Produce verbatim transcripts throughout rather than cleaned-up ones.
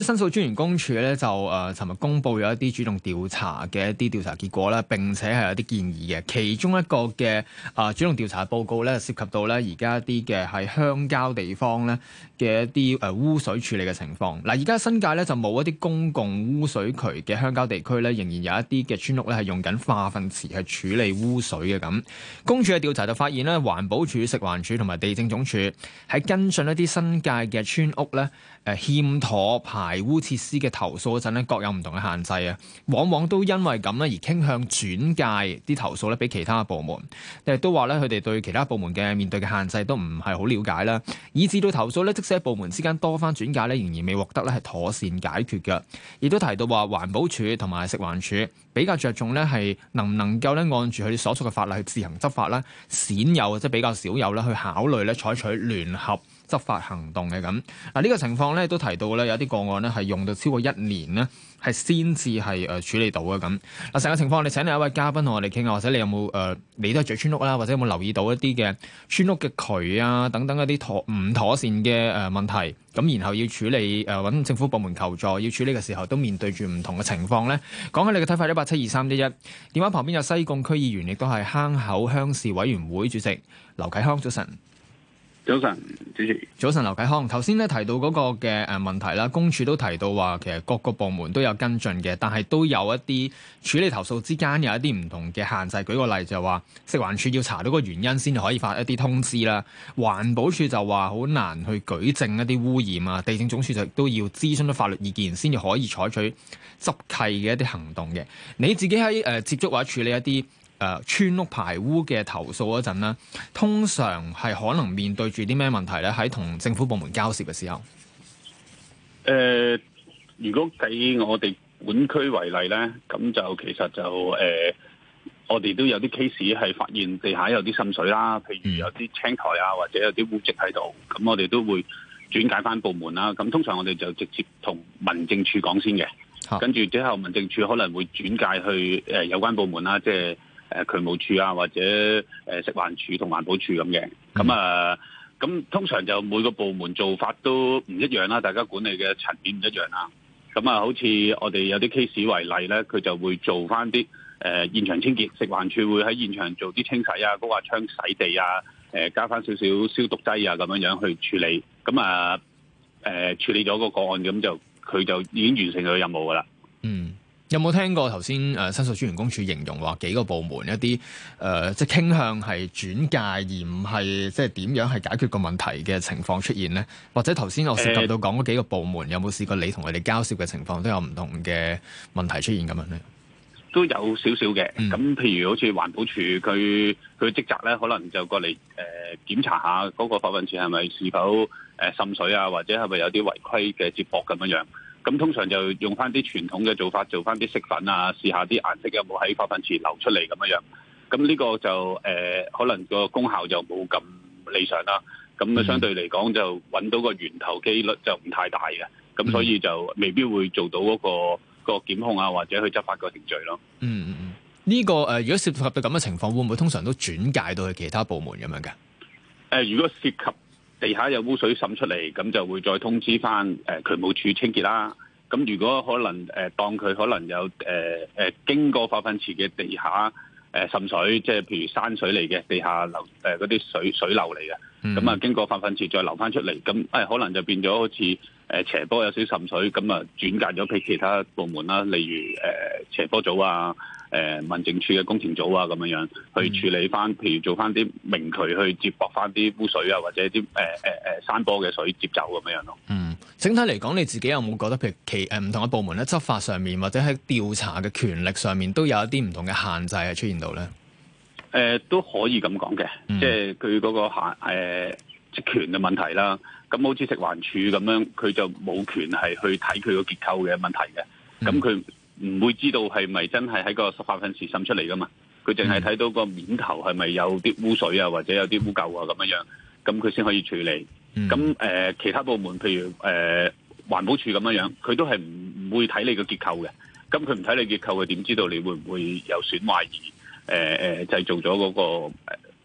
申訴專員公署咧就誒尋日公布咗一啲主動調查嘅一啲調查結果啦，並且係有啲建議嘅。其中一個嘅誒、呃、主動調查報告咧，涉及到咧而家一啲嘅係鄉郊地方咧嘅一啲誒污水處理嘅情況。嗱，而家新界咧就冇一啲公共污水渠嘅鄉郊地區咧，仍然有一啲嘅村屋咧係用緊化糞池去處理污水嘅咁。公署嘅調查就發現咧，環保署、食環署同埋地政總署喺跟進一啲新界嘅村屋咧。誒欠妥排污設施嘅投訴嗰陣咧，各有唔同嘅限制啊，往往都因為咁咧而傾向轉介啲投訴咧俾其他部門，誒都話咧佢哋對其他部門嘅面對嘅限制都唔係好了解啦，以至到投訴咧，即使喺部門之間多番轉介咧，仍然未獲得咧係妥善解決嘅。亦都提到話環保署同埋食環署比較着重咧係能唔能夠咧按住佢哋所屬嘅法例去自行執法啦，鮮有即係比較少有啦去考慮咧採取聯合執法行動嘅咁。嗱呢個情況咧都提到咧有啲個案咧係用到超過一年咧係先至係誒處理到嘅咁。嗱成個情況，我哋請另一位嘉賓同我哋傾下，或者你有冇誒、呃、你都係住村屋啦，或者有冇留意到一啲嘅村屋嘅渠啊等等一啲妥唔妥善嘅誒問題，咁然後要處理誒揾、呃、政府部門求助，要處理嘅時候都面對住唔同嘅情況咧。講下你嘅睇法，一八七二三一一。電話旁邊有西貢區議員，亦都係坑口鄉事委員會主席劉啟康，早晨。 早晨，主持。 早晨，劉啟康。頭先咧提到嗰個嘅誒問題啦，公署都提到話，其實各個部門都有跟進嘅，但係都有一啲處理投訴之間有一啲唔同嘅限制。舉個例就係話，食環署要查到個原因先至可以發一啲通知啦。環保署就話好難去舉證一啲污染啊。地政總署就都要諮詢咗法律意見先至可以採取執契嘅一啲行動嘅。你自己喺誒、呃、接觸或者處理一啲誒、呃、村屋排污嘅投訴嗰陣咧，通常係可能面對住啲咩問題咧？喺同政府部門交涉嘅時候，誒、 呃，如果計我哋本區為例咧，咁就其實就誒、呃，我哋都有啲 case 係發現地下有啲滲水啦，譬如有啲青苔啊，或者有啲污漬喺度，咁我哋都會轉介翻部門啦。咁通常我哋就直接同民政處講先嘅，啊、跟住之後民政處可能會轉介去誒、呃、有關部門啦，即係。誒渠務處啊，或者誒食環署同環保署咁嘅，咁啊，咁通常就每個部門做法都唔一樣啦，大家管理嘅層面唔一樣啦。咁啊，好似我哋有啲 case 為例咧，佢就會做翻啲誒現場清潔，食環署會喺現場做啲清洗啊、高壓槍洗地啊，誒加翻少少消毒劑啊，咁樣樣去處理。咁啊，誒處理咗個個案，咁就佢就已經完成佢嘅任務噶啦。 嗯。有冇聽過頭先誒申訴專員公署形容話幾個部門一啲誒、呃、即係傾向係轉介而唔係即係點樣係解決個問題嘅情況出現咧？或者頭先我涉及到講嗰幾個部門，有冇試過你同佢哋交涉嘅情況都有唔同嘅問題出現咁樣咧？ 都有少少嘅，咁、嗯、譬如好似環保署佢佢職責咧，可能就過嚟誒、呃、檢查下嗰個化糞池係咪是否誒滲水啊，或者係咪有啲違規嘅接駁咁樣樣。咁通常就用翻啲傳統嘅做法，做翻啲色粉啊，試下啲顏色有冇喺化糞池流出嚟咁樣樣。咁呢個就誒、呃、可能個功效就冇咁理想啦。咁啊相對嚟講就揾到個源頭機率就唔太大嘅。咁所以就未必會做到嗰、那個、那個檢控啊，或者去執法個程序咯。 嗯嗯嗯。呢、這個誒、呃，如果涉及到咁嘅情況，會唔會通常都轉介到去其他部門咁樣嘅？誒、 呃，如果涉及地下有污水滲出嚟，咁就會再通知翻誒、呃、渠務處清潔啦。咁如果可能誒、呃，當佢可能有誒誒、呃、經過化糞池嘅地下誒、呃、滲水，即係譬如山水嚟嘅地下流誒嗰啲水水流嚟嘅，咁啊、嗯、經過化糞池再流翻出嚟，咁誒、呃、可能就變咗好似誒、呃、斜坡有少滲水，咁啊轉介咗俾其他部門啦，例如誒、呃、斜坡組啊。誒、呃、民政處嘅工程組啊，咁樣樣去處理翻，譬如做翻啲明渠去接駁翻啲污水啊，或者啲誒誒誒山坡嘅水接走咁樣樣咯。 嗯，整體嚟講，你自己有冇覺得譬如其誒唔同嘅部門咧，執法上面或者喺調查嘅權力上面都有一啲唔同嘅限制係出現到咧？誒、 呃、都可以咁講嘅，嗯、即係佢嗰個限誒、呃、職權嘅問題啦。咁好似食環署咁樣，佢就冇權係去睇佢個結構嘅問題嘅。咁佢、嗯唔會知道係咪真係喺個化糞池滲出嚟噶嘛？佢淨係睇到個面頭係咪有啲污水啊，或者有啲污垢啊咁樣樣，咁佢先可以處理。咁誒、嗯呃，其他部門譬如誒、呃、環保署咁樣樣，佢都係唔唔會睇你個結構嘅。咁佢唔睇你結構，佢點知道你會唔會有損壞而誒誒製造咗嗰個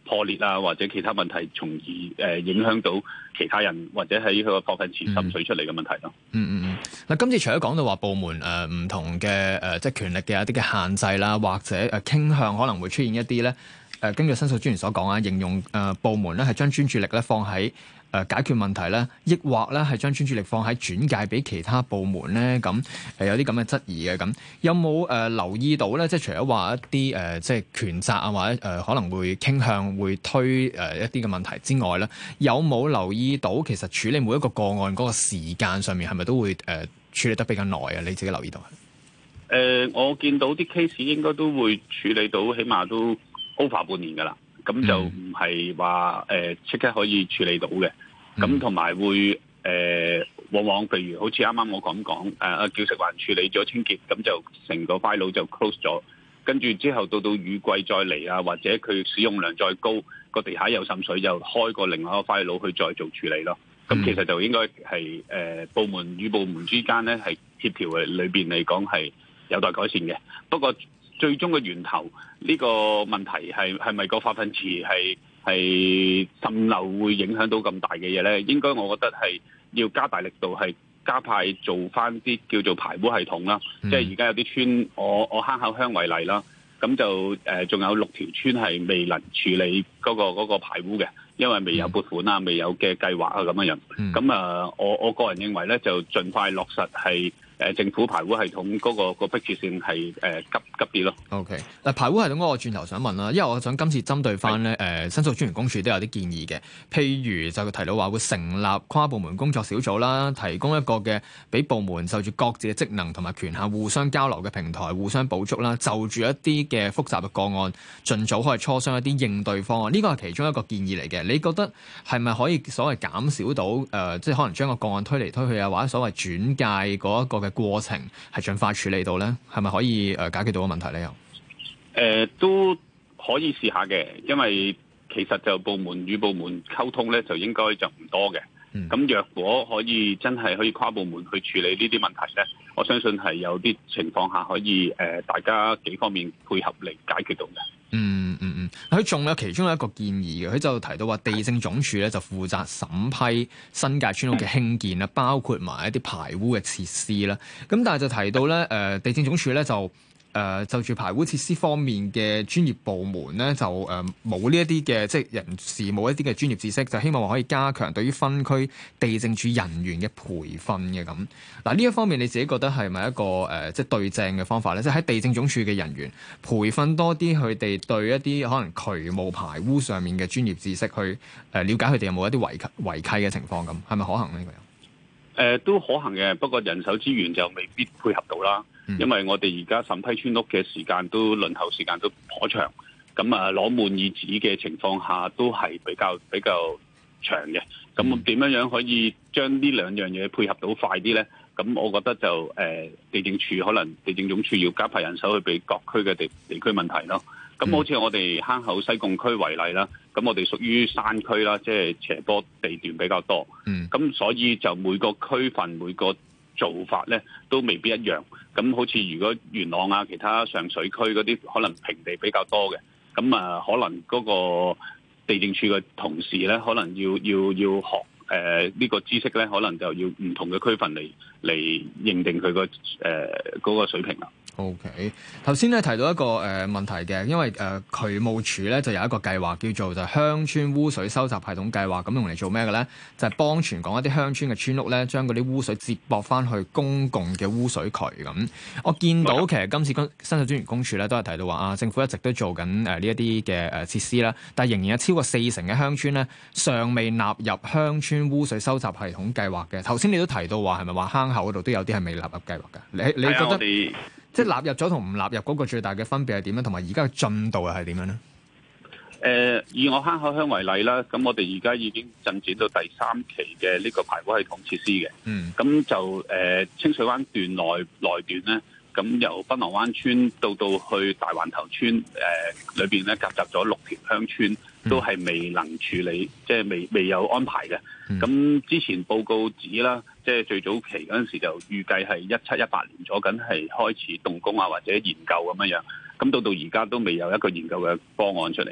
破裂啊，或者其他問題，從而誒、呃、影響到其他人或者喺佢個貨櫃池滲水出嚟嘅問題咯。 嗯嗯嗯。嗱，今次除咗講到話部門誒唔、呃、同嘅誒、呃、即係權力嘅一啲嘅限制啦，或者誒傾向可能會出現一啲咧誒，根據申訴專員所講啊，形容誒、呃、部門咧係將專注力咧放喺誒、呃、解決問題咧，抑或咧係將專注力放喺轉介俾其他部門咧？咁誒、呃、有啲咁嘅質疑嘅，咁有冇誒、呃、留意到咧？即係除咗話一啲誒、呃、即係權責啊，或者誒、呃、可能會傾向會推誒、呃、一啲嘅問題之外咧，有冇留意到其實處理每一個個案嗰個時間上面係咪都會誒、呃、處理得比較耐啊？你自己留意到？ 誒、呃，我見到啲 case 應該都會處理到，起碼都 over 半年㗎啦。咁就唔係話誒即刻可以處理到嘅。咁同埋會誒、呃，往往譬如好似啱啱我咁講，誒、呃、叫食環處理咗清潔，咁就成個 file 就 close 咗。跟住之後到到雨季再嚟啊，或者佢使用量再高，個地下又滲水，就開個另外一個 file 去再做處理咯。咁其實就應該係誒部門與部門之間咧係協調嘅，裏邊嚟講係有待改善嘅。不過最終嘅源頭呢個問題係係咪個化糞池係係滲漏會影響到咁大嘅嘢咧？應該我覺得係要加大力度係加派做翻啲叫做排污系統啦。嗯、即係而家有啲村，我我坑口鄉為例啦，咁就誒仲有六條村係未能處理嗰個嗰個排污嘅。因為未有撥款啊，未有嘅計劃啊咁樣樣，咁啊、嗯，我我個人認為咧，就盡快落實係誒政府排污系統嗰、那個、那個迫切性係誒、呃、急急啲咯。OK， 嗱排污系統嗰個轉頭想問啦，因為我想今次針對翻咧誒申訴專員公署都有啲建議嘅，譬如就提到話會成立跨部門工作小組啦，提供一個嘅俾部門就住各自嘅職能同埋權限互相交流嘅平台，互相補足啦，就住一啲嘅複雜嘅個案，盡早可以磋商一啲應對方案，呢個係其中一個建議嚟嘅。你覺得係咪可以所謂減少到誒、呃，即係可能將個個案推嚟推去啊，或者所謂轉介嗰一個嘅過程係盡快處理到咧？係咪可以誒解決到個問題咧？又誒、呃、都可以試下嘅，因為其實就部門與部門溝通咧，就應該就唔多嘅。咁、嗯、若果可以真係可以跨部門去處理呢啲問題咧，我相信係有啲情況下可以誒、呃，大家幾方面配合嚟解決到嘅。 嗯嗯嗯，佢仲有其中一個建議嘅，佢就提到話地政總署咧就負責審批新界村屋嘅興建啦，包括埋一啲排污嘅設施啦。咁但係就提到咧，誒、呃、地政總署咧就。誒、呃、就住排污設施方面嘅專業部門咧，就誒冇呢一啲嘅即係人士冇一啲嘅專業知識，就希望話可以加強對於分區地政處人員嘅培訓嘅咁。嗱呢一方面你自己覺得係咪一個誒、呃、即係對正嘅方法咧？即係喺地政總署嘅人員培訓多啲佢哋對一啲可能渠務排污上面嘅專業知識，去誒了解佢哋有冇一啲違契違契嘅情況咁，係咪可行呢？呢個誒、呃、都可行嘅，不過人手資源就未必配合到啦。嗯、因為我哋而家審批村屋嘅時間都輪候時間都頗長，咁啊攞滿意紙嘅情況下都係比較比較長嘅。咁點樣樣可以將呢兩樣嘢配合到快啲咧？咁我覺得就誒、呃、地政處可能地政總署要加派人手去俾各區嘅地地區問題咯。咁好似我哋坑口西貢區為例啦，咁我哋屬於山區啦，即係斜坡地段比較多。嗯，咁所以就每個區份每個做法咧都未必一樣。咁好似如果元朗啊、其他上水區嗰啲可能平地比較多嘅，咁啊可能嗰個地政處嘅同事咧，可能要要要學誒呢、呃這個知識咧，可能就要唔同嘅區份嚟嚟認定佢個誒嗰個水平啦。 O.K. 頭先咧提到一個誒、呃、問題嘅，因為誒、呃、渠務署咧就有一個計劃叫做就鄉村污水收集系統計劃，咁用嚟做咩嘅咧？就係、是、幫全港一啲鄉村嘅村屋咧，將嗰啲污水接駁翻去公共嘅污水渠咁。我見到其實今次申訴專員公署咧都係提到話啊，政府一直都做緊誒呢一啲嘅誒設施啦，但係仍然有超過四成嘅鄉村咧尚未納入鄉村污水收集系統計劃嘅。頭先你都提到話係咪話坑口嗰度都有啲係未納入計劃嘅？你你覺得？即係納入咗同唔納入嗰個最大嘅分別係點樣？同埋而家嘅進度又係點樣咧？誒、 呃，以我坑口鄉為例啦，咁我哋而家已經進展到第三期嘅呢個排污系統設施嘅。嗯。咁就誒、呃、清水灣段內內段咧，咁由檳榔灣村到到去大環頭村誒裏邊咧，夾雜咗六條鄉村，都係未能處理，即係未未有安排嘅。咁、嗯、之前報告指啦，即係最早期嗰陣時就預計係一七一八年左緊係開始動工啊，或者研究咁樣樣。咁到到而家都未有一個研究嘅方案出嚟嘅。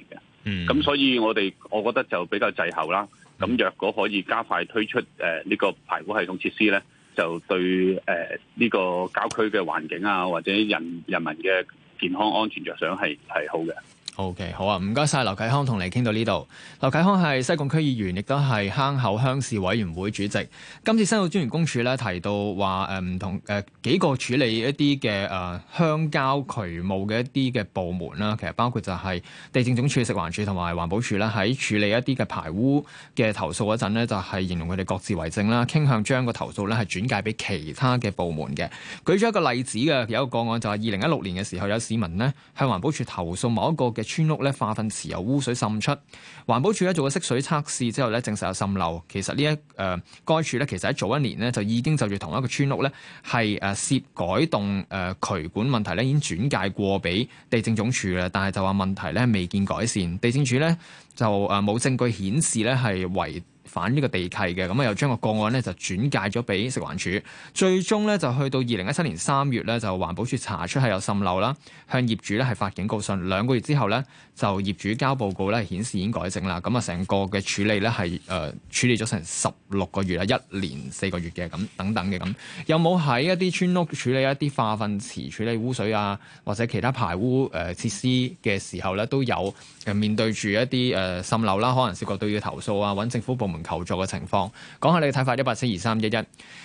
咁、嗯、所以我哋我覺得就比較滯後啦。咁若果可以加快推出誒呢、呃這個排污系統設施咧，就對誒呢、呃這個郊區嘅環境啊，或者人人民嘅健康安全着想係係好嘅。 O.K. 好啊，唔該晒。劉啟康同你傾到呢度。劉啟康係西貢區議員，亦都係坑口鄉事委員會主席。今次申訴專員公署咧提到話誒唔同誒、呃、幾個處理一啲嘅誒鄉郊渠務嘅一啲嘅部門啦，其實包括就係地政總署、食環署同埋環保署啦，喺處理一啲嘅排污嘅投訴嗰陣咧，就係、是、形容佢哋各自為政啦，傾向將個投訴咧係轉介俾其他嘅部門嘅。舉咗一個例子嘅，有一個個案就係二零一六年嘅時候，有市民呢向環保署投訴某一個嘅村屋咧化糞池有污水滲出，環保署咧做咗識水測試之後咧證實有滲漏。其實呢一誒該處咧其實喺早一年咧就已經就住同一個村屋咧係誒涉改動誒、呃、渠管問題咧已經轉介過俾地政總署啦，但係就話問題咧未見改善，地政署咧就誒冇證據顯示咧係違反呢個地契嘅，咁啊又將個個案咧就轉介咗俾食環署，最終咧就去到二零一七年三月咧就環保署查出係有滲漏啦，向業主咧係發警告信，兩個月之後咧就業主交報告咧顯示已經改正啦，咁啊成個嘅處理咧係誒處理咗成十六個月啊，一年四個月嘅咁等等嘅咁，有冇喺一啲村屋處理一啲化糞池處理污水啊，或者其他排污誒、呃、設施嘅時候咧都有誒面對住一啲誒滲漏啦，可能涉及到要投訴啊，揾政府部門求助嘅情況，講下你嘅睇法，一八七二三一一。